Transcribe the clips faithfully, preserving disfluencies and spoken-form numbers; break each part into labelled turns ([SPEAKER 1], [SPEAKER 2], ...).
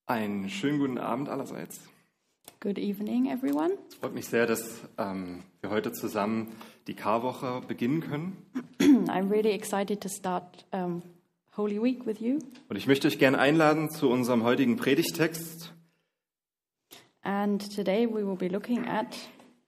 [SPEAKER 1] Einen schönen guten Abend allerseits.
[SPEAKER 2] Good evening, everyone.
[SPEAKER 1] Es freut mich sehr, dass ähm, wir heute zusammen die Karwoche beginnen können.
[SPEAKER 2] I'm really excited to start um, Holy Week with you.
[SPEAKER 1] Und ich möchte euch gerne einladen zu unserem heutigen Predigtext.
[SPEAKER 2] And today we will be looking at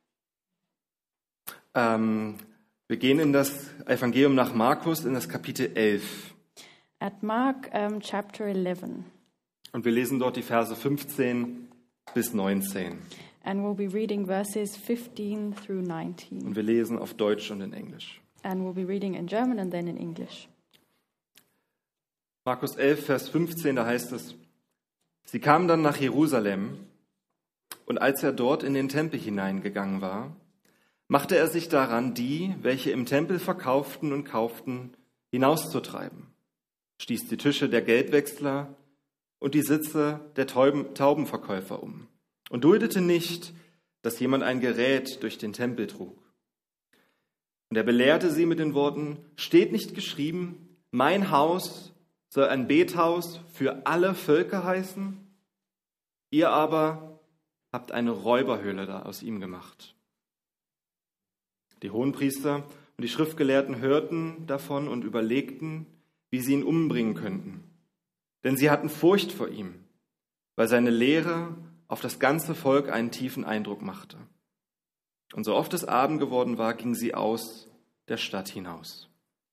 [SPEAKER 1] Ähm, wir gehen in das Evangelium nach Markus, in das Kapitel elf.
[SPEAKER 2] at Mark um, chapter eleven.
[SPEAKER 1] Und wir lesen dort die Verse fünfzehn bis neunzehn.
[SPEAKER 2] And we'll be reading verses fifteen through nineteen.
[SPEAKER 1] Und wir lesen auf Deutsch und in Englisch.
[SPEAKER 2] And we'll be reading in German and then in English.
[SPEAKER 1] Markus elf, Vers fünfzehn, da heißt es: Sie kamen dann nach Jerusalem, und als er dort in den Tempel hineingegangen war, machte er sich daran, die, welche im Tempel verkauften und kauften, hinauszutreiben, stieß die Tische der Geldwechsler und die Sitze der Tauben, Taubenverkäufer um und duldete nicht, dass jemand ein Gerät durch den Tempel trug. Und er belehrte sie mit den Worten: Steht nicht geschrieben, mein Haus soll ein Bethaus für alle Völker heißen? Ihr aber habt eine Räuberhöhle da aus ihm gemacht. Die Hohenpriester und die Schriftgelehrten hörten davon und überlegten, wie sie ihn umbringen könnten. Denn sie hatten Furcht vor ihm, weil seine Lehre auf das ganze Volk einen tiefen Eindruck machte. Und so oft es Abend geworden war, gingen sie aus der Stadt hinaus.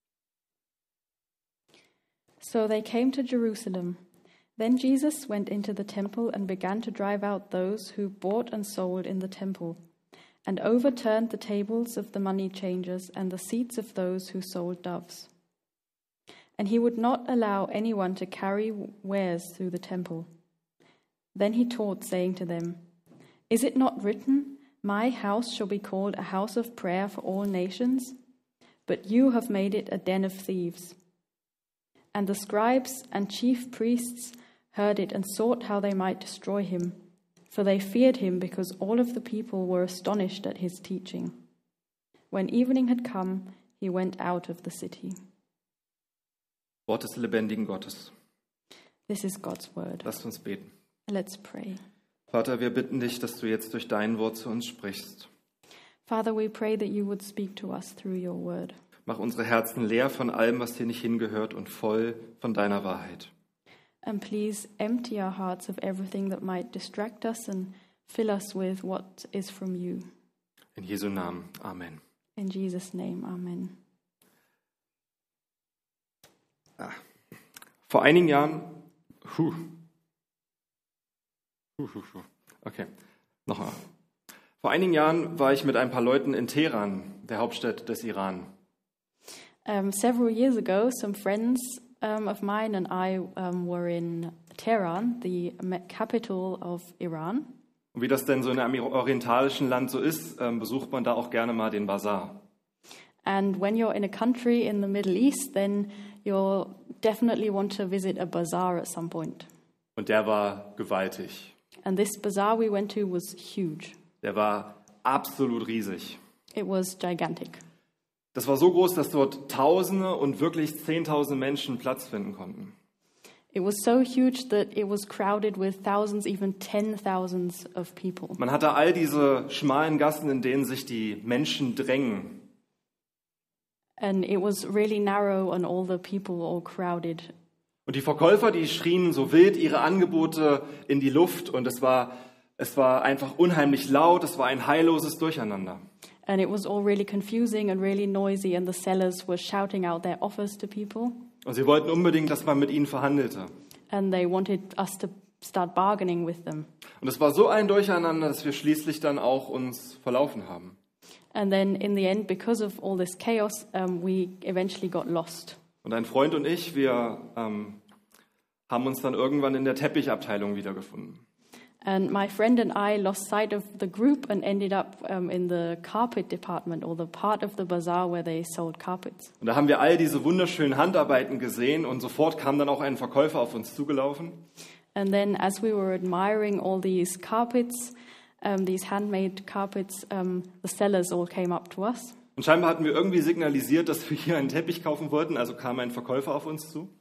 [SPEAKER 2] So they came to Jerusalem. Then Jesus went into the temple and began to drive out those who bought and sold in the temple, and overturned the tables of the money changers and the seats of those who sold doves. And he would not allow anyone to carry wares through the temple. Then he taught, saying to them, Is it not written, My house shall be called a house of prayer for all nations? But you have made it a den of thieves. And the scribes and chief priests heard it and sought how they might destroy him, for they feared him because all of the people were astonished at his teaching. When evening had come, he went out of the city.
[SPEAKER 1] Wort des lebendigen Gottes.
[SPEAKER 2] This is God's word.
[SPEAKER 1] Lasst uns beten.
[SPEAKER 2] Let's pray.
[SPEAKER 1] Vater, wir bitten dich, dass du jetzt durch dein Wort zu uns sprichst.
[SPEAKER 2] Father, we pray that you would speak to us through your word.
[SPEAKER 1] Mach unsere Herzen leer von allem, was hier nicht hingehört, und voll von deiner Wahrheit.
[SPEAKER 2] And please empty our hearts of everything that might distract us and fill us with what is from you.
[SPEAKER 1] In Jesu Namen. Amen.
[SPEAKER 2] In Jesus' name, amen.
[SPEAKER 1] Ah. Vor einigen Jahren, huh. Huh, huh, huh. Okay, nochmal. Vor einigen Jahren war ich mit ein paar Leuten in Teheran, der Hauptstadt des Iran.
[SPEAKER 2] Um, several years ago, some friends um, of mine and I um, were in Tehran, the capital of Iran.
[SPEAKER 1] Und wie das denn so in einem orientalischen Land so ist, ähm, besucht man da auch gerne mal den Bazar.
[SPEAKER 2] And when you're in a country in the Middle East, then you'll definitely want to visit a bazaar at some point.
[SPEAKER 1] Und der war gewaltig.
[SPEAKER 2] And this bazaar we went to was huge.
[SPEAKER 1] Der war absolut riesig.
[SPEAKER 2] It was gigantic.
[SPEAKER 1] Das war so groß, dass dort Tausende und wirklich Zehntausende Menschen Platz finden konnten.
[SPEAKER 2] It was so huge that it was crowded with thousands, even ten thousands of people.
[SPEAKER 1] Man hatte all diese schmalen Gassen, in denen sich die Menschen drängen.
[SPEAKER 2] And it was really narrow and all the people all crowded.
[SPEAKER 1] Und die Verkäufer, die schrien so wild ihre Angebote in die Luft, und es war, es war einfach unheimlich laut, es war ein heilloses Durcheinander.
[SPEAKER 2] And it was all really confusing and really noisy, and the sellers were shouting out their offers to people.
[SPEAKER 1] Und sie wollten unbedingt, dass man mit ihnen verhandelte.
[SPEAKER 2] And they wanted us to start bargaining with them.
[SPEAKER 1] Und es war so ein Durcheinander, dass wir schließlich dann auch uns verlaufen haben.
[SPEAKER 2] And then in the end, because of all this chaos, um, we eventually got lost.
[SPEAKER 1] Und ein Freund und ich, wir ähm, haben uns dann irgendwann in der Teppichabteilung wiedergefunden.
[SPEAKER 2] And my friend and I lost sight of the group and ended up um, in the carpet department, or the part of the bazaar where they sold carpets.
[SPEAKER 1] Und da haben wir all diese wunderschönen Handarbeiten gesehen, und sofort kam dann auch ein Verkäufer auf uns zugelaufen.
[SPEAKER 2] And then as we were admiring all these carpets, um, these handmade carpets, um, the sellers all came up to us.
[SPEAKER 1] Und scheinbar hatten wir irgendwie signalisiert, dass wir hier einen Teppich kaufen wollten, also kam ein Verkäufer auf uns zu.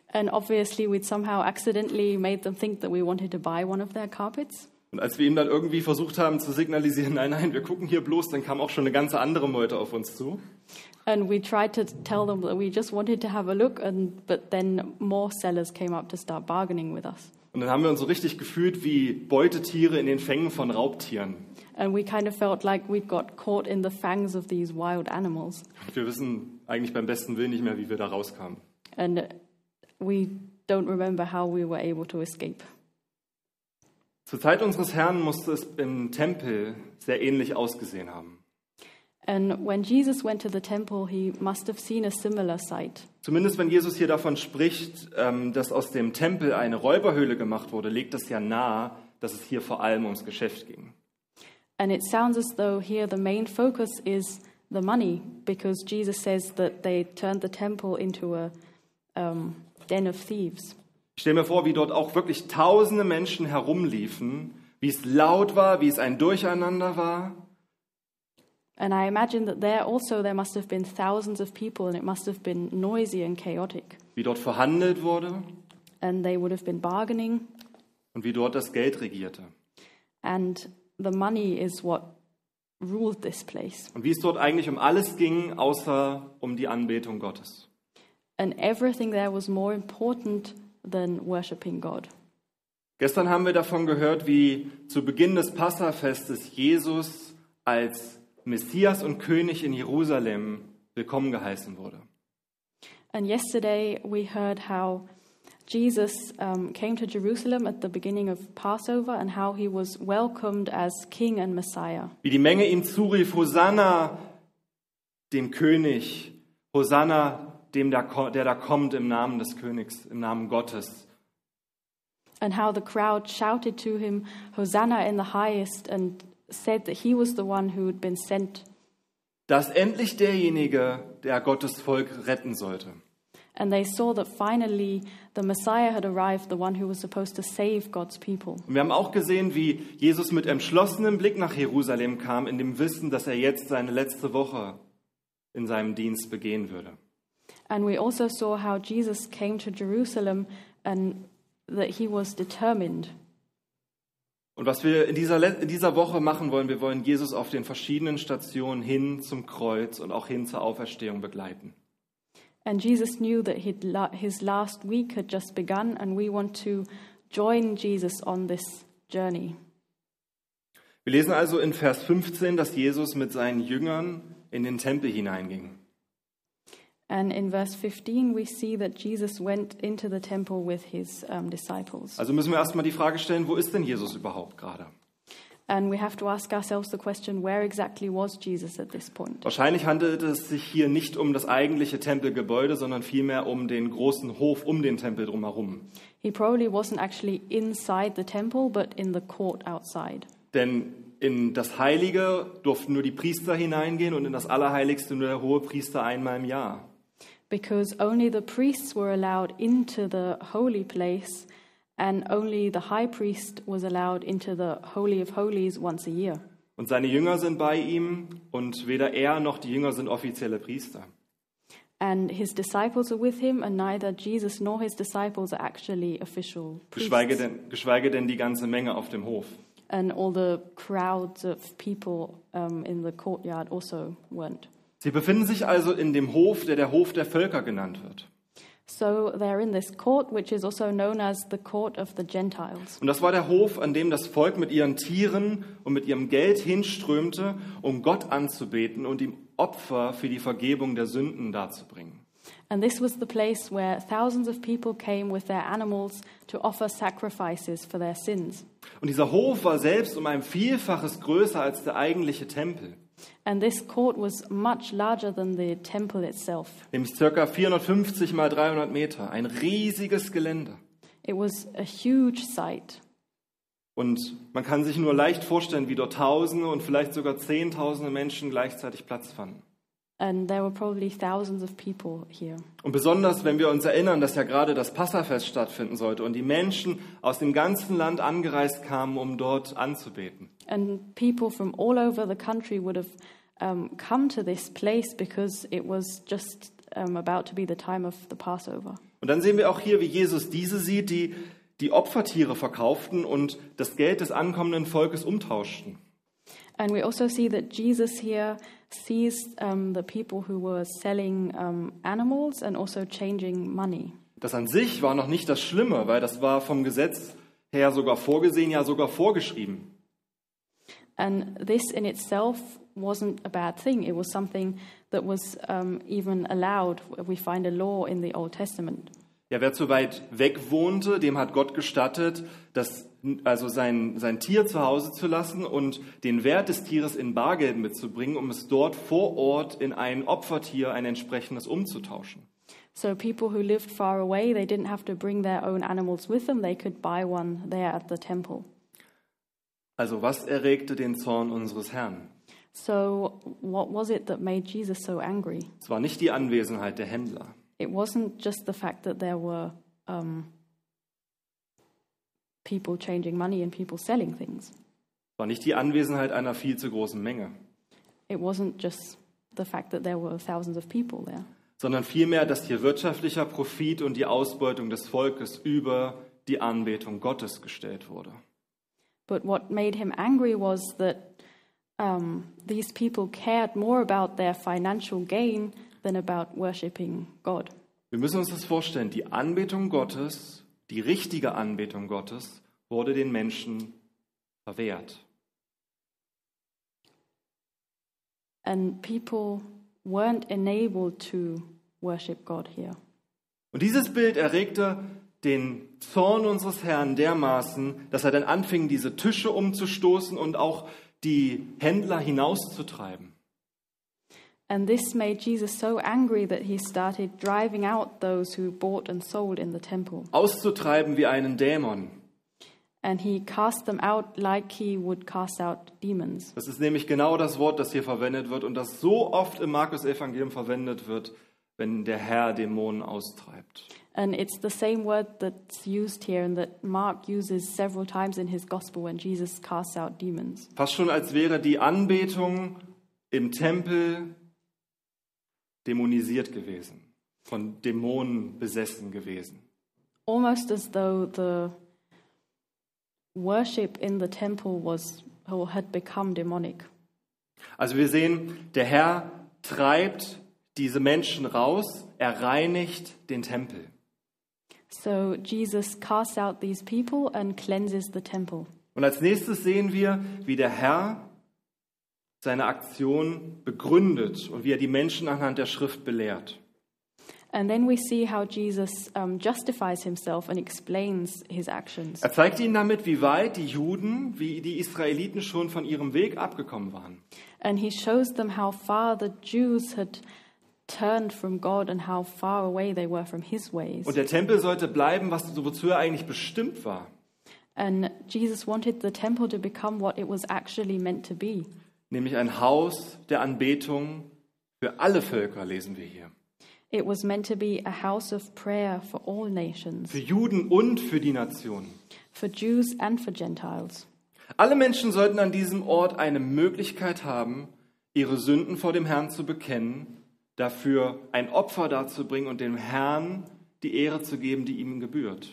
[SPEAKER 2] And obviously we'd somehow accidentally made them think that we wanted to buy one of their carpets.
[SPEAKER 1] Und als wir ihm dann irgendwie versucht haben zu signalisieren, nein, nein, wir gucken hier bloß, dann kam auch schon eine ganze andere Meute auf uns zu.
[SPEAKER 2] And we tried to tell them that we just wanted to have a look, and but then more sellers came up to start bargaining with us.
[SPEAKER 1] Und dann haben wir uns so richtig gefühlt wie Beutetiere in den Fängen von Raubtieren.
[SPEAKER 2] And we kind of felt like we'd got caught in the fangs of these wild animals.
[SPEAKER 1] Und wir wissen eigentlich beim besten Willen nicht mehr, wie wir da rauskamen.
[SPEAKER 2] And we don't remember how we were able to escape.
[SPEAKER 1] Zur Zeit unseres Herrn musste es im Tempel sehr ähnlich ausgesehen haben.
[SPEAKER 2] And when Jesus went to the temple, he must have seen a similar sight.
[SPEAKER 1] Zumindest wenn Jesus hier davon spricht, ähm, dass aus dem Tempel eine Räuberhöhle gemacht wurde, legt das ja nahe, dass es hier vor allem ums Geschäft ging.
[SPEAKER 2] And it sounds as though here the main focus is the money, because Jesus says that they turned the temple into a um, den of thieves.
[SPEAKER 1] Ich stelle mir vor, wie dort auch wirklich tausende Menschen herumliefen, wie es laut war, wie es ein Durcheinander war.
[SPEAKER 2] And I imagine that there also there must have been thousands of people, and it must have been noisy and chaotic.
[SPEAKER 1] Wie dort verhandelt wurde.
[SPEAKER 2] And they would have been bargaining.
[SPEAKER 1] Und wie dort das Geld regierte.
[SPEAKER 2] And the money is what ruled this place.
[SPEAKER 1] Und wie es dort eigentlich um alles ging, außer um die Anbetung Gottes.
[SPEAKER 2] And everything there was more important than worshiping God.
[SPEAKER 1] Gestern haben wir davon gehört, wie zu Beginn des Passafestes Jesus als Messias und König in Jerusalem willkommen geheißen wurde.
[SPEAKER 2] And yesterday we heard how Jesus um, came to Jerusalem at the beginning of Passover and how he was welcomed as King and Messiah.
[SPEAKER 1] Wie die Menge ihm zurief, Hosanna dem König, Hosanna dem, der, der da kommt im Namen des Königs, im Namen Gottes.
[SPEAKER 2] And how the crowd shouted to him, Hosanna in the highest, and said that he was the one who had been sent.
[SPEAKER 1] Dass endlich derjenige, der Gottes Volk retten sollte.
[SPEAKER 2] And they saw that finally the Messiah had arrived, the one who was supposed to save God's people.
[SPEAKER 1] Und wir haben auch gesehen, wie Jesus mit entschlossenem Blick nach Jerusalem kam, in dem Wissen, dass er jetzt seine letzte Woche in seinem Dienst begehen würde.
[SPEAKER 2] And we also saw how Jesus came to Jerusalem and that he was determined.
[SPEAKER 1] Und was wir in dieser, in dieser Woche machen wollen, wir wollen Jesus auf den verschiedenen Stationen hin zum Kreuz und auch hin zur Auferstehung begleiten.
[SPEAKER 2] And Jesus knew that he'd la- his last week had just begun, and we want to join Jesus on this journey.
[SPEAKER 1] Wir lesen also in Vers fünfzehn, dass Jesus mit seinen Jüngern in den Tempel hineinging.
[SPEAKER 2] And in verse fifteen, we see that Jesus went into the temple with his um, disciples.
[SPEAKER 1] Also müssen wir erstmal die Frage stellen, wo ist denn Jesus überhaupt gerade?
[SPEAKER 2] And we have to ask ourselves the question, where exactly was Jesus at this point?
[SPEAKER 1] Wahrscheinlich handelt es sich hier nicht um das eigentliche Tempelgebäude, sondern vielmehr um den großen Hof um den Tempel drumherum.
[SPEAKER 2] He probably wasn't actually inside the temple, but in the court outside.
[SPEAKER 1] Denn in das Heilige durften nur die Priester hineingehen und in das Allerheiligste nur der Hohepriester einmal im Jahr.
[SPEAKER 2] Because only the priests were allowed into the holy place, and only the high priest was allowed into the Holy of Holies once a year.
[SPEAKER 1] Und seine Jünger sind bei ihm und weder er noch die Jünger sind offizielle Priester.
[SPEAKER 2] And his disciples are with him, and neither Jesus nor his disciples are actually official priests.
[SPEAKER 1] Geschweige denn, geschweige denn die ganze Menge auf dem Hof.
[SPEAKER 2] And all the crowds of people um, in the courtyard also weren't.
[SPEAKER 1] Sie befinden sich also in dem Hof, der der Hof der Völker genannt wird.
[SPEAKER 2] So they're in this court, which is also known as the court of the Gentiles.
[SPEAKER 1] Und das war der Hof, an dem das Volk mit ihren Tieren und mit ihrem Geld hinströmte, um Gott anzubeten und ihm Opfer für die Vergebung der Sünden darzubringen.
[SPEAKER 2] And this was the place where thousands of people came with their animals to offer sacrifices for their sins.
[SPEAKER 1] Und dieser Hof war selbst um ein Vielfaches größer als der eigentliche Tempel.
[SPEAKER 2] And this court was much larger than the temple itself.
[SPEAKER 1] Nämlich ca. vierhundertfünfzig mal dreihundert Meter. Ein riesiges Gelände.
[SPEAKER 2] It was a huge site.
[SPEAKER 1] Und man kann sich nur leicht vorstellen, wie dort Tausende und vielleicht sogar Zehntausende Menschen gleichzeitig Platz fanden.
[SPEAKER 2] And there were probably thousands of people here.
[SPEAKER 1] Und besonders, wenn wir uns erinnern, dass ja gerade das Passafest stattfinden sollte und die Menschen aus dem ganzen Land angereist kamen, um dort anzubeten.
[SPEAKER 2] And people from all over the country would have um, come to this place because it was just um, about to be the time of the Passover.
[SPEAKER 1] Und dann sehen wir auch hier, wie Jesus diese sieht, die die Opfertiere verkauften und das Geld des ankommenden Volkes umtauschten.
[SPEAKER 2] And we also see that Jesus here sees um, the people who were selling um, animals and also changing money.
[SPEAKER 1] Das an sich war noch nicht das Schlimme, weil das war vom Gesetz her sogar vorgesehen, ja sogar vorgeschrieben.
[SPEAKER 2] And this in itself wasn't a bad thing. It was something that was um, even allowed. We find a law in the Old Testament.
[SPEAKER 1] Ja, wer zu weit weg wohnte, dem hat Gott gestattet, das, also sein, sein Tier zu Hause zu lassen und den Wert des Tieres in Bargeld mitzubringen, um es dort vor Ort in ein Opfertier, ein entsprechendes, umzutauschen.
[SPEAKER 2] So people who lived far away, they didn't have to bring their own animals with them. They could buy one there at the temple.
[SPEAKER 1] Also was erregte den Zorn unseres Herrn?
[SPEAKER 2] So what was it that made Jesus so angry?
[SPEAKER 1] Es war nicht die Anwesenheit der Händler.
[SPEAKER 2] It wasn't just the fact that there were um, people changing money and people selling things.
[SPEAKER 1] Es war nicht die Anwesenheit einer viel zu großen Menge.
[SPEAKER 2] It wasn't just the fact that there were thousands of people there.
[SPEAKER 1] Sondern vielmehr, dass hier wirtschaftlicher Profit und die Ausbeutung des Volkes über die Anbetung Gottes gestellt wurde.
[SPEAKER 2] But what made him angry was that um, these people cared more about their financial gain than about worshiping God.
[SPEAKER 1] Wir müssen uns das vorstellen, die Anbetung Gottes, die richtige Anbetung Gottes, wurde den Menschen verwehrt.
[SPEAKER 2] And people weren't enabled to worship God here.
[SPEAKER 1] Und dieses Bild erregte den Zorn unseres Herrn dermaßen, dass er dann anfing, diese Tische umzustoßen und auch die Händler hinauszutreiben.
[SPEAKER 2] And this made Jesus so angry that he started driving out those who bought and sold in the temple.
[SPEAKER 1] Auszutreiben wie einen Dämon.
[SPEAKER 2] And he cast them out like he would cast out demons.
[SPEAKER 1] Das ist nämlich genau das Wort, das hier verwendet wird und das so oft im Markus-Evangelium verwendet wird, wenn der Herr Dämonen austreibt.
[SPEAKER 2] And it's the same word that's used here and that Mark uses several times in his gospel when Jesus casts out demons.
[SPEAKER 1] Fast schon als wäre die Anbetung im Tempel dämonisiert gewesen, von Dämonen besessen gewesen.
[SPEAKER 2] Almost as though the worship in the temple was or had become demonic.
[SPEAKER 1] Also wir sehen, der Herr treibt diese Menschen raus, er reinigt den Tempel.
[SPEAKER 2] So Jesus casts out these people and cleanses the temple.
[SPEAKER 1] Und als nächstes sehen wir, wie der Herr seine Aktion begründet und wie er die Menschen anhand der Schrift belehrt.
[SPEAKER 2] And then we see how Jesus um, justifies himself and explains his actions.
[SPEAKER 1] Er zeigt ihnen damit, wie weit die Juden, wie die Israeliten schon von ihrem Weg abgekommen waren.
[SPEAKER 2] And he shows them how far the Jews had turned from God and how far away they were from his ways.
[SPEAKER 1] Und der Tempel sollte bleiben, was wozu er eigentlich bestimmt war.
[SPEAKER 2] And Jesus wanted the temple to become what it was actually meant to be.
[SPEAKER 1] Nämlich ein Haus der Anbetung für alle Völker, lesen wir hier.
[SPEAKER 2] It was meant to be a house of prayer for all nations,
[SPEAKER 1] Für Juden und für die Nationen.
[SPEAKER 2] for Jews and for Gentiles.
[SPEAKER 1] Alle Menschen sollten an diesem Ort eine Möglichkeit haben, ihre Sünden vor dem Herrn zu bekennen, dafür ein Opfer darzubringen und dem Herrn die Ehre zu geben, die ihm gebührt.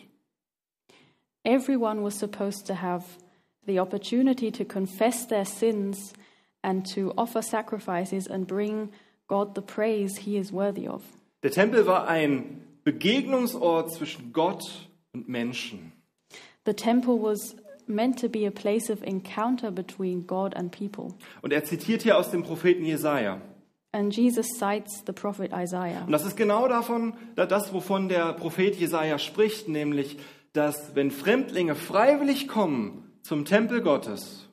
[SPEAKER 2] Everyone was supposed to have the opportunity to confess their sins and to offer sacrifices and bring God the praise he is worthy of.
[SPEAKER 1] Der Tempel war ein Begegnungsort zwischen Gott und Menschen.
[SPEAKER 2] The temple was meant to be a place of encounter between God and people.
[SPEAKER 1] Und er zitiert hier aus dem Propheten Jesaja.
[SPEAKER 2] And Jesus cites the prophet Isaiah.
[SPEAKER 1] Und das ist genau davon, das, wovon der Prophet Jesaja spricht, nämlich, dass wenn Fremdlinge freiwillig kommen zum Tempel Gottes,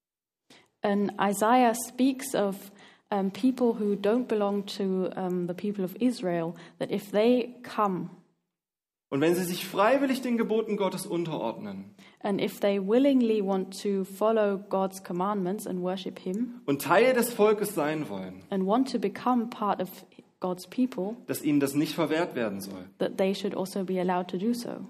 [SPEAKER 2] And Isaiah speaks of um, people who don't belong to um, the people of Israel, that if they come
[SPEAKER 1] und wenn sie sich freiwillig den Geboten Gottes unterordnen
[SPEAKER 2] and if they willingly want to follow God's commandments and worship him
[SPEAKER 1] und Teil des Volkes sein wollen,
[SPEAKER 2] and want to become part of God's people,
[SPEAKER 1] dass ihnen das nicht verwehrt werden soll.
[SPEAKER 2] that they should also be allowed to do so.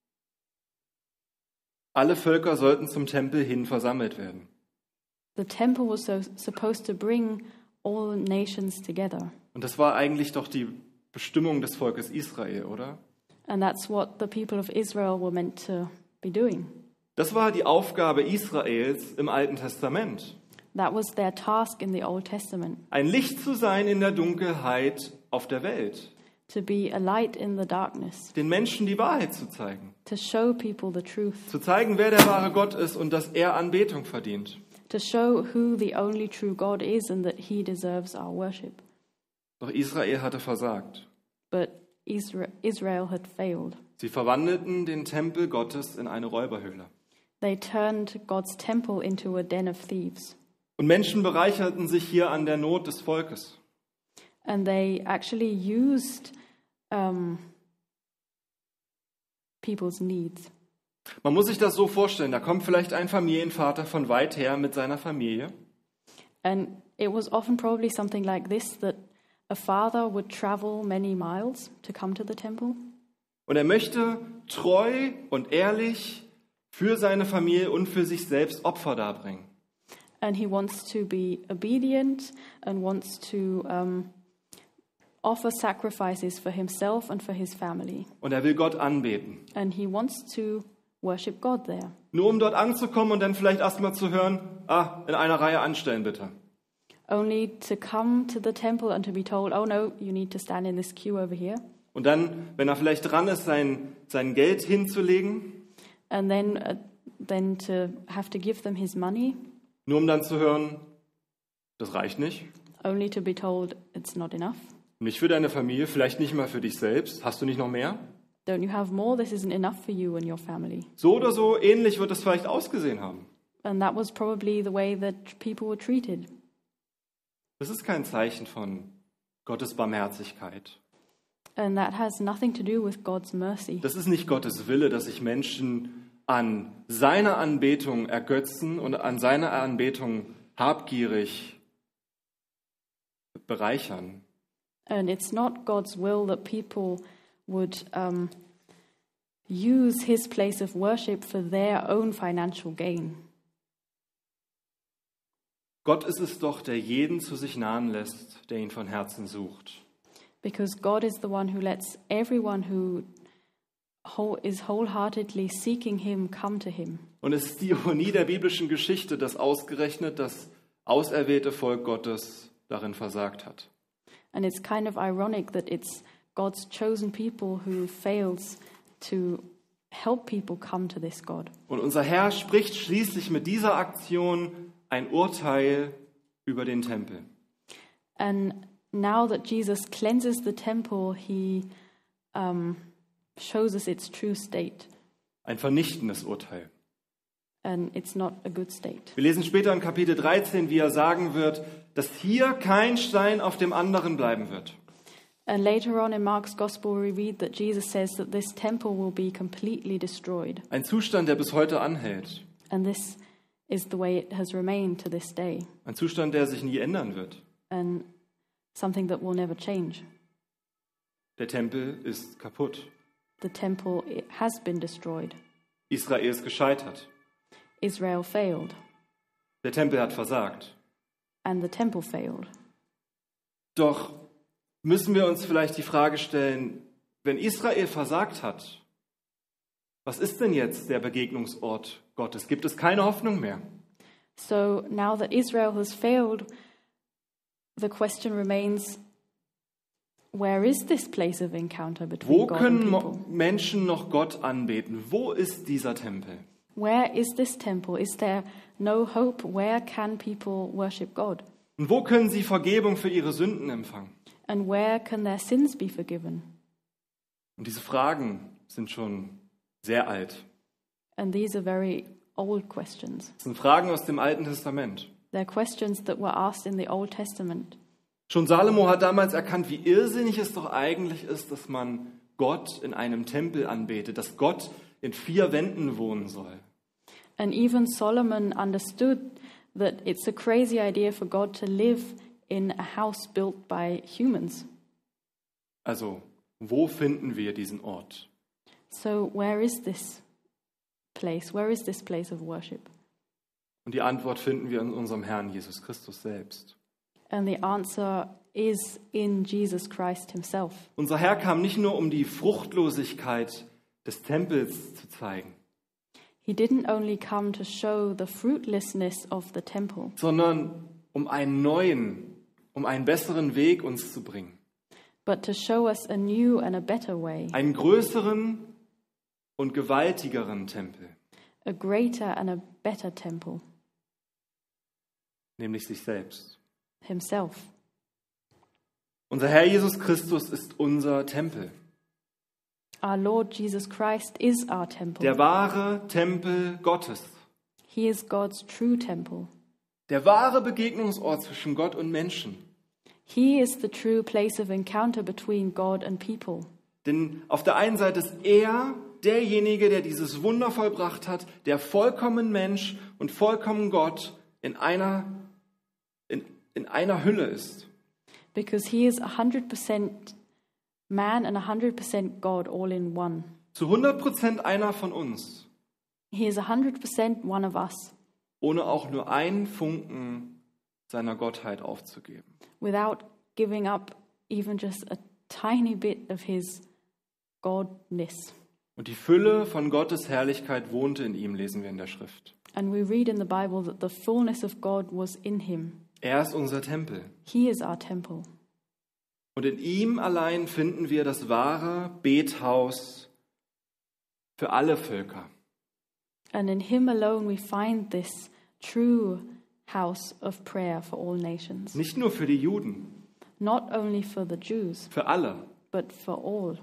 [SPEAKER 1] Alle Völker sollten zum Tempel hin versammelt werden.
[SPEAKER 2] The temple was so, supposed to bring all nations together.
[SPEAKER 1] Und das war eigentlich doch die Bestimmung des Volkes Israel, oder?
[SPEAKER 2] And that's what the people of Israel were meant to be doing.
[SPEAKER 1] Das war die Aufgabe Israels im Alten Testament.
[SPEAKER 2] That was their task in the Old Testament,
[SPEAKER 1] Ein Licht zu sein in der Dunkelheit auf der Welt.
[SPEAKER 2] to be a light in the darkness,
[SPEAKER 1] Den Menschen die Wahrheit zu zeigen.
[SPEAKER 2] to show people the truth,
[SPEAKER 1] Zu zeigen, wer der wahre Gott ist und dass er Anbetung verdient.
[SPEAKER 2] to show who the only true God is and that he deserves our worship.
[SPEAKER 1] Doch Israel hatte versagt.
[SPEAKER 2] But Isra- Israel had failed.
[SPEAKER 1] Sie verwandelten den Tempel Gottes in eine Räuberhöhle.
[SPEAKER 2] They turned God's temple into a den of thieves.
[SPEAKER 1] Und Menschen bereicherten sich hier an der Not des Volkes.
[SPEAKER 2] And they actually used um, people's needs.
[SPEAKER 1] Man muss sich das so vorstellen, da kommt vielleicht ein Familienvater von weit her mit seiner Familie
[SPEAKER 2] And it was often probably something like this, that a father would travel many miles to come to the temple.
[SPEAKER 1] und er möchte treu und ehrlich für seine Familie und für sich selbst Opfer darbringen.
[SPEAKER 2] And he wants to be obedient and wants to um, offer sacrifices for himself and for his family.
[SPEAKER 1] Und er will Gott anbeten.
[SPEAKER 2] And he wants to worship God there.
[SPEAKER 1] Nur um dort anzukommen und dann vielleicht erstmal zu hören, ah, in einer Reihe anstellen bitte.
[SPEAKER 2] Only to come to the temple and to be told, oh no, you need to stand in this queue over here.
[SPEAKER 1] Und dann, wenn er vielleicht dran ist, sein, sein Geld hinzulegen,
[SPEAKER 2] And then, uh, then to have to give them his money,
[SPEAKER 1] nur um dann zu hören, das reicht nicht.
[SPEAKER 2] only to be told it's not enough.
[SPEAKER 1] Nicht für deine Familie, vielleicht nicht mal für dich selbst. Hast du nicht noch mehr?
[SPEAKER 2] Don't you have more? This isn't enough for you and your family.
[SPEAKER 1] So oder so ähnlich wird es vielleicht ausgesehen haben.
[SPEAKER 2] And that was probably the way that people were treated.
[SPEAKER 1] Das ist kein Zeichen von Gottes Barmherzigkeit.
[SPEAKER 2] And that has nothing to do with God's mercy.
[SPEAKER 1] Das ist nicht Gottes Wille, dass sich Menschen an seiner Anbetung ergötzen und an seiner Anbetung habgierig bereichern.
[SPEAKER 2] And it's not God's will that people would um, use his place of worship for their own financial gain.
[SPEAKER 1] Gott ist es doch, der jeden zu sich nahen lässt, der ihn von Herzen sucht.
[SPEAKER 2] Because God is the one who lets everyone who whole, is wholeheartedly seeking him come to him.
[SPEAKER 1] Und es ist die Ironie der biblischen Geschichte, dass ausgerechnet das auserwählte Volk Gottes darin versagt hat.
[SPEAKER 2] And it's kind of ironic that it's God's chosen people who fails to help people come to this God.
[SPEAKER 1] Und unser Herr spricht schließlich mit dieser Aktion ein Urteil über den Tempel.
[SPEAKER 2] And now that Jesus cleanses the temple, he um, shows us its true state.
[SPEAKER 1] Ein vernichtendes Urteil.
[SPEAKER 2] And it's not a good state.
[SPEAKER 1] Wir lesen später in Kapitel dreizehn, wie er sagen wird, dass hier kein Stein auf dem anderen bleiben wird.
[SPEAKER 2] And later on in Mark's Gospel, we read that Jesus says that this temple will be completely destroyed.
[SPEAKER 1] Ein Zustand, der bis heute anhält.
[SPEAKER 2] And this is the way it has remained to this day.
[SPEAKER 1] Ein Zustand, der sich nie ändern wird.
[SPEAKER 2] And something that will never change.
[SPEAKER 1] Der Tempel ist kaputt.
[SPEAKER 2] The temple, it has been destroyed.
[SPEAKER 1] Israel ist gescheitert.
[SPEAKER 2] Israel failed.
[SPEAKER 1] Der Tempel hat versagt.
[SPEAKER 2] And the temple failed.
[SPEAKER 1] Doch müssen wir uns vielleicht die Frage stellen, wenn Israel versagt hat, was ist denn jetzt der Begegnungsort Gottes? Gibt es keine Hoffnung mehr?
[SPEAKER 2] So now that Israel has failed, the question remains, where is this place of encounter between
[SPEAKER 1] Wo
[SPEAKER 2] God and
[SPEAKER 1] können
[SPEAKER 2] people?
[SPEAKER 1] Mo- Menschen noch Gott anbeten? Wo ist dieser Tempel?
[SPEAKER 2] Where is this temple? Is there no hope? Where can people worship God?
[SPEAKER 1] Und wo können sie Vergebung für ihre Sünden empfangen?
[SPEAKER 2] And where can their sins be forgiven?
[SPEAKER 1] Und diese Fragen sind schon sehr alt.
[SPEAKER 2] And these are very old questions.
[SPEAKER 1] Das sind Fragen aus dem Alten Testament.
[SPEAKER 2] They're questions that were asked in the Old Testament.
[SPEAKER 1] Schon Salomo hat damals erkannt, wie irrsinnig es doch eigentlich ist, dass man Gott in einem Tempel anbetet, dass Gott in vier Wänden wohnen soll.
[SPEAKER 2] And even Solomon understood that it's a crazy idea for God to live in a house built by humans.
[SPEAKER 1] Also, wo finden wir diesen Ort?
[SPEAKER 2] So where is this place? Where is this place of worship?
[SPEAKER 1] Und die Antwort finden wir in unserem Herrn Jesus Christus selbst.
[SPEAKER 2] And the answer is in Jesus Christ himself.
[SPEAKER 1] Unser Herr kam nicht nur, um die Fruchtlosigkeit des Tempels zu zeigen,
[SPEAKER 2] He didn't only come to show the fruitlessness of the temple,
[SPEAKER 1] sondern um einen neuen, um einen besseren Weg uns zu bringen.
[SPEAKER 2] but to show us a new and a better way,
[SPEAKER 1] Einen größeren und gewaltigeren Tempel,
[SPEAKER 2] a greater and a better temple,
[SPEAKER 1] nämlich sich selbst.
[SPEAKER 2] himself.
[SPEAKER 1] Unser Herr Jesus Christus ist unser Tempel,
[SPEAKER 2] Our Lord Jesus Christ is our temple.
[SPEAKER 1] der wahre Tempel Gottes,
[SPEAKER 2] He is God's true temple.
[SPEAKER 1] der wahre Begegnungsort zwischen Gott und Menschen.
[SPEAKER 2] He is the true place of encounter between God and people.
[SPEAKER 1] Denn auf der einen Seite ist er derjenige, der dieses Wunder vollbracht hat, der vollkommen Mensch und vollkommen Gott in einer, in, in einer Hülle ist.
[SPEAKER 2] Because he is one hundred percent man and one hundred percent God all in one.
[SPEAKER 1] Zu hundert Prozent einer von uns,
[SPEAKER 2] He is one hundred percent one of us,
[SPEAKER 1] ohne auch nur einen Funken seiner Gottheit aufzugeben.
[SPEAKER 2] without giving up even just a tiny bit of his godness.
[SPEAKER 1] Und die Fülle von Gottes Herrlichkeit wohnte in ihm, lesen wir in der Schrift.
[SPEAKER 2] And we read in the Bible that the fullness of God was in him.
[SPEAKER 1] Er ist unser Tempel.
[SPEAKER 2] He is our temple.
[SPEAKER 1] Und in ihm allein finden wir das wahre Bethaus für alle Völker.
[SPEAKER 2] And in him alone we find this true house of prayer for all nations.
[SPEAKER 1] Nicht nur für die Juden,
[SPEAKER 2] Not only for the Jews,
[SPEAKER 1] für alle.
[SPEAKER 2] but for all.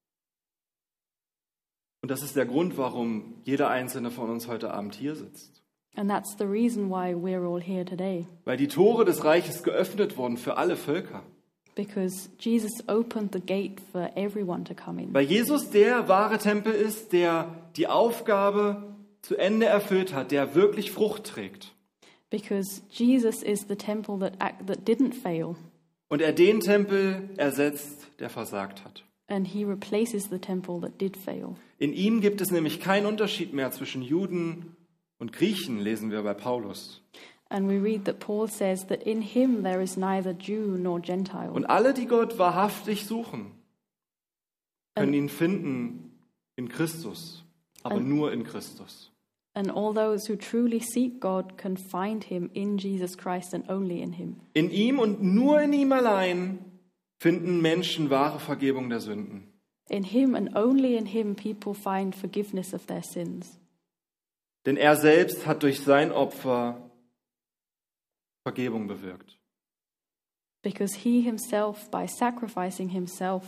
[SPEAKER 1] Und das ist der Grund, warum jeder einzelne von uns heute Abend hier sitzt.
[SPEAKER 2] And that's the reason why we're all here today.
[SPEAKER 1] Weil die Tore des Reiches geöffnet wurden für alle Völker.
[SPEAKER 2] Because Jesus opened the gate for everyone to come in.
[SPEAKER 1] Weil Jesus der wahre Tempel ist, der die Aufgabe zu Ende erfüllt hat, der wirklich Frucht trägt.
[SPEAKER 2] Because Jesus is the temple that act, that didn't fail,
[SPEAKER 1] Und er den Tempel ersetzt, der versagt hat.
[SPEAKER 2] and he replaces the temple that did fail.
[SPEAKER 1] In ihm gibt es nämlich keinen Unterschied mehr zwischen Juden und Griechen, lesen wir bei Paulus.
[SPEAKER 2] And we read that Paul says that in him there is neither Jew nor Gentile.
[SPEAKER 1] Und alle, die Gott wahrhaftig suchen, können
[SPEAKER 2] And-
[SPEAKER 1] ihn finden in Christus, aber
[SPEAKER 2] And-
[SPEAKER 1] nur in Christus.
[SPEAKER 2] And all those who truly seek God can find him in Jesus Christ and only in him.
[SPEAKER 1] In ihm und nur in ihm allein finden Menschen wahre Vergebung der Sünden.
[SPEAKER 2] In him and only in him people find forgiveness of their sins.
[SPEAKER 1] Denn er selbst hat durch sein Opfer Vergebung bewirkt.
[SPEAKER 2] Because he himself, by sacrificing himself,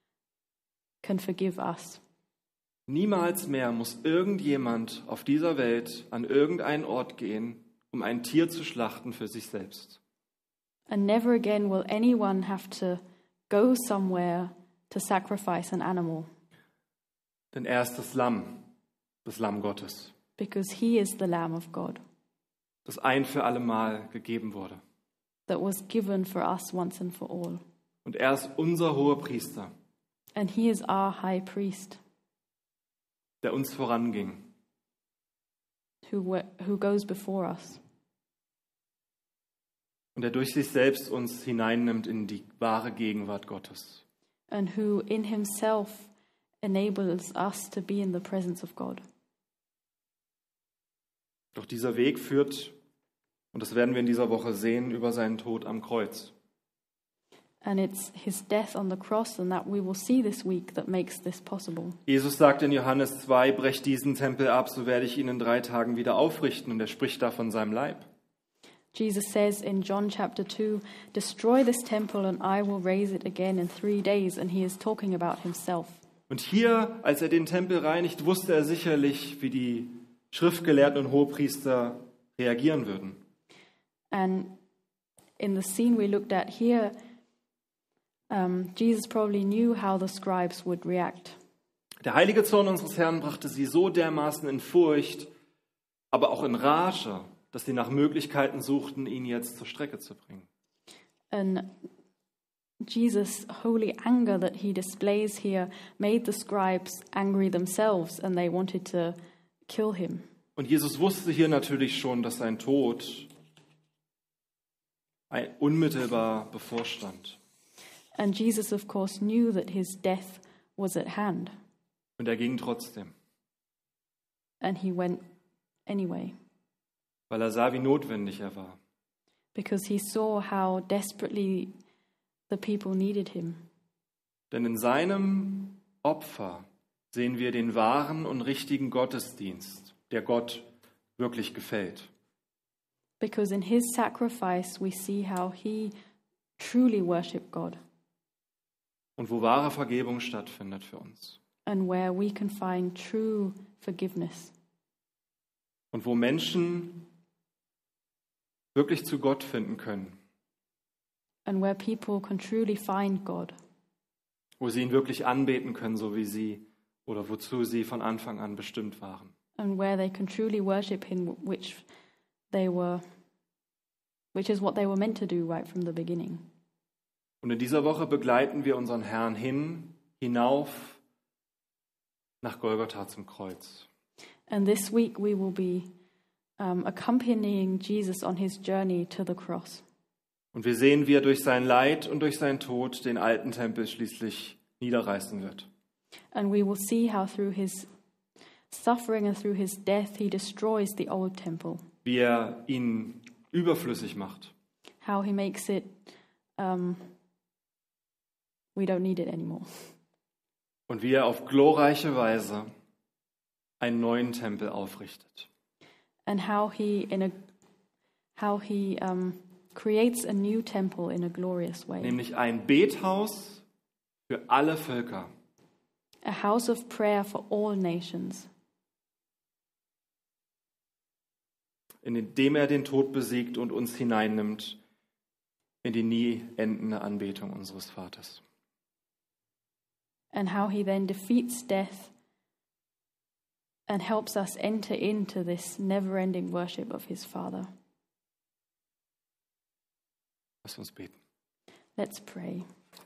[SPEAKER 2] can forgive us.
[SPEAKER 1] Niemals mehr muss irgendjemand auf dieser Welt an irgendeinen Ort gehen, um ein Tier zu schlachten für sich selbst.
[SPEAKER 2] And never again will anyone have to go somewhere to sacrifice an animal,
[SPEAKER 1] Denn er ist das Lamm, das Lamm Gottes,
[SPEAKER 2] because he is the Lamb of God
[SPEAKER 1] das ein für alle Mal gegeben wurde.
[SPEAKER 2] that was given for us once and for all.
[SPEAKER 1] Und er ist unser Hohepriester,
[SPEAKER 2] And he is our high priest
[SPEAKER 1] der uns voranging.
[SPEAKER 2] who, wa- who goes before us.
[SPEAKER 1] Und der durch sich selbst uns hineinnimmt in die wahre Gegenwart Gottes.
[SPEAKER 2] And who in himself enables us to be in the presence of God.
[SPEAKER 1] Doch dieser Weg führt, und das werden wir in dieser Woche sehen, über seinen Tod am Kreuz.
[SPEAKER 2] And it's his death on the cross, and that we will see this week, that makes this possible.
[SPEAKER 1] Jesus sagt in Johannes zwei, brecht diesen Tempel ab, so werde ich ihn in drei Tagen wieder aufrichten. Und er spricht da von seinem Leib.
[SPEAKER 2] Jesus says in John chapter two, destroy this temple and I will raise it again in three days. And he is talking about himself.
[SPEAKER 1] Und hier, als er den Tempel reinigt, wusste er sicherlich, wie die Schriftgelehrten und Hohepriester reagieren würden.
[SPEAKER 2] And in the scene we looked at here, um, Jesus probably knew how the scribes would react.
[SPEAKER 1] Der heilige Zorn unseres Herrn brachte sie so dermaßen in Furcht, aber auch in Rage, dass sie nach Möglichkeiten suchten, ihn jetzt zur Strecke zu bringen.
[SPEAKER 2] And Jesus' holy anger that he displays here made the scribes angry themselves, and they wanted to kill him.
[SPEAKER 1] Und Jesus wusste hier natürlich schon, dass sein Tod ein- unmittelbar bevorstand.
[SPEAKER 2] And Jesus, of course, knew that his death was at hand,
[SPEAKER 1] Und er ging trotzdem,
[SPEAKER 2] and he went anyway,
[SPEAKER 1] weil er sah, wie notwendig er war.
[SPEAKER 2] because he saw how desperately the people needed him.
[SPEAKER 1] Denn in seinem Opfer sehen wir den wahren und richtigen Gottesdienst, der Gott wirklich gefällt.
[SPEAKER 2] Because in his sacrifice we see how he truly worshiped God,
[SPEAKER 1] Und wo wahre Vergebung stattfindet für uns.
[SPEAKER 2] and where we can find true forgiveness,
[SPEAKER 1] Und wo Menschen wirklich zu Gott finden können.
[SPEAKER 2] and where people can truly find God,
[SPEAKER 1] Wo sie ihn wirklich anbeten können, so wie sie oder wozu sie von Anfang an bestimmt waren.
[SPEAKER 2] and where they can truly worship him, which they were, which is what they were meant to do right from the beginning.
[SPEAKER 1] Und in dieser Woche begleiten wir unseren Herrn hin, hinauf nach Golgatha zum Kreuz.
[SPEAKER 2] And this week we will be um, accompanying Jesus on his journey to the cross.
[SPEAKER 1] Und wir sehen, wie er durch sein Leid und durch seinen Tod den alten Tempel schließlich niederreißen wird.
[SPEAKER 2] And we will see how through his suffering and through his death he destroys the old temple,
[SPEAKER 1] Wie er ihn überflüssig macht.
[SPEAKER 2] how he makes it, um, we don't need it anymore.
[SPEAKER 1] Und wie er auf glorreiche Weise einen neuen Tempel aufrichtet.
[SPEAKER 2] And how he in a how he um, creates a new temple in a glorious way,
[SPEAKER 1] Nämlich ein Bethaus für alle Völker.
[SPEAKER 2] a house of prayer for all nations,
[SPEAKER 1] In dem er den Tod besiegt und uns hineinnimmt in die nie endende Anbetung unseres Vaters.
[SPEAKER 2] and how he then defeats death and helps us enter into this never-ending worship of his Father.
[SPEAKER 1] Lass uns beten.
[SPEAKER 2] Let's pray.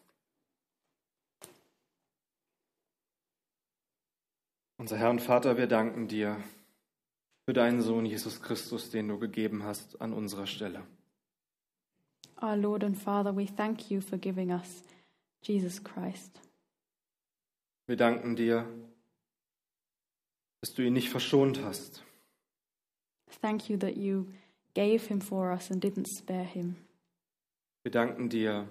[SPEAKER 1] Unser Herr und Vater, wir danken dir für deinen Sohn Jesus Christus, den du gegeben hast an unserer Stelle.
[SPEAKER 2] Our Lord and Father, we thank you for giving us Jesus Christ.
[SPEAKER 1] Wir danken dir, dass du ihn nicht verschont hast,
[SPEAKER 2] Thank you that you gave him for us and didn't spare him.
[SPEAKER 1] Wir danken dir,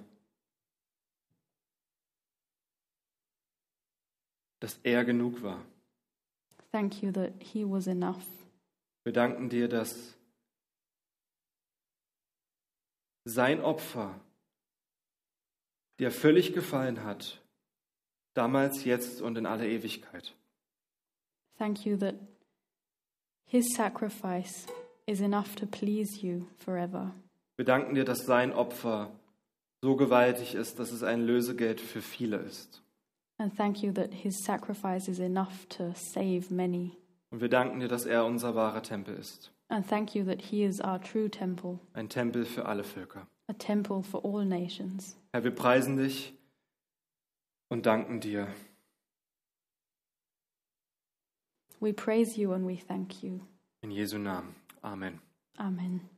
[SPEAKER 1] dass er genug war.
[SPEAKER 2] Thank you that he was enough.
[SPEAKER 1] Wir danken dir, dass sein Opfer dir völlig gefallen hat, damals, jetzt und in alle Ewigkeit.
[SPEAKER 2] Thank you that his sacrifice is enough to please you forever.
[SPEAKER 1] Wir danken dir, dass sein Opfer so gewaltig ist, dass es ein Lösegeld für viele ist.
[SPEAKER 2] And thank you that his sacrifice is enough to save many.
[SPEAKER 1] Und wir danken dir, dass er unser wahrer Tempel ist.
[SPEAKER 2] And thank you that he is our true temple,
[SPEAKER 1] Ein Tempel für alle Völker.
[SPEAKER 2] a temple for all nations.
[SPEAKER 1] Herr, wir preisen dich und danken dir.
[SPEAKER 2] We praise you and we thank you.
[SPEAKER 1] In Jesu Namen. Amen.
[SPEAKER 2] Amen.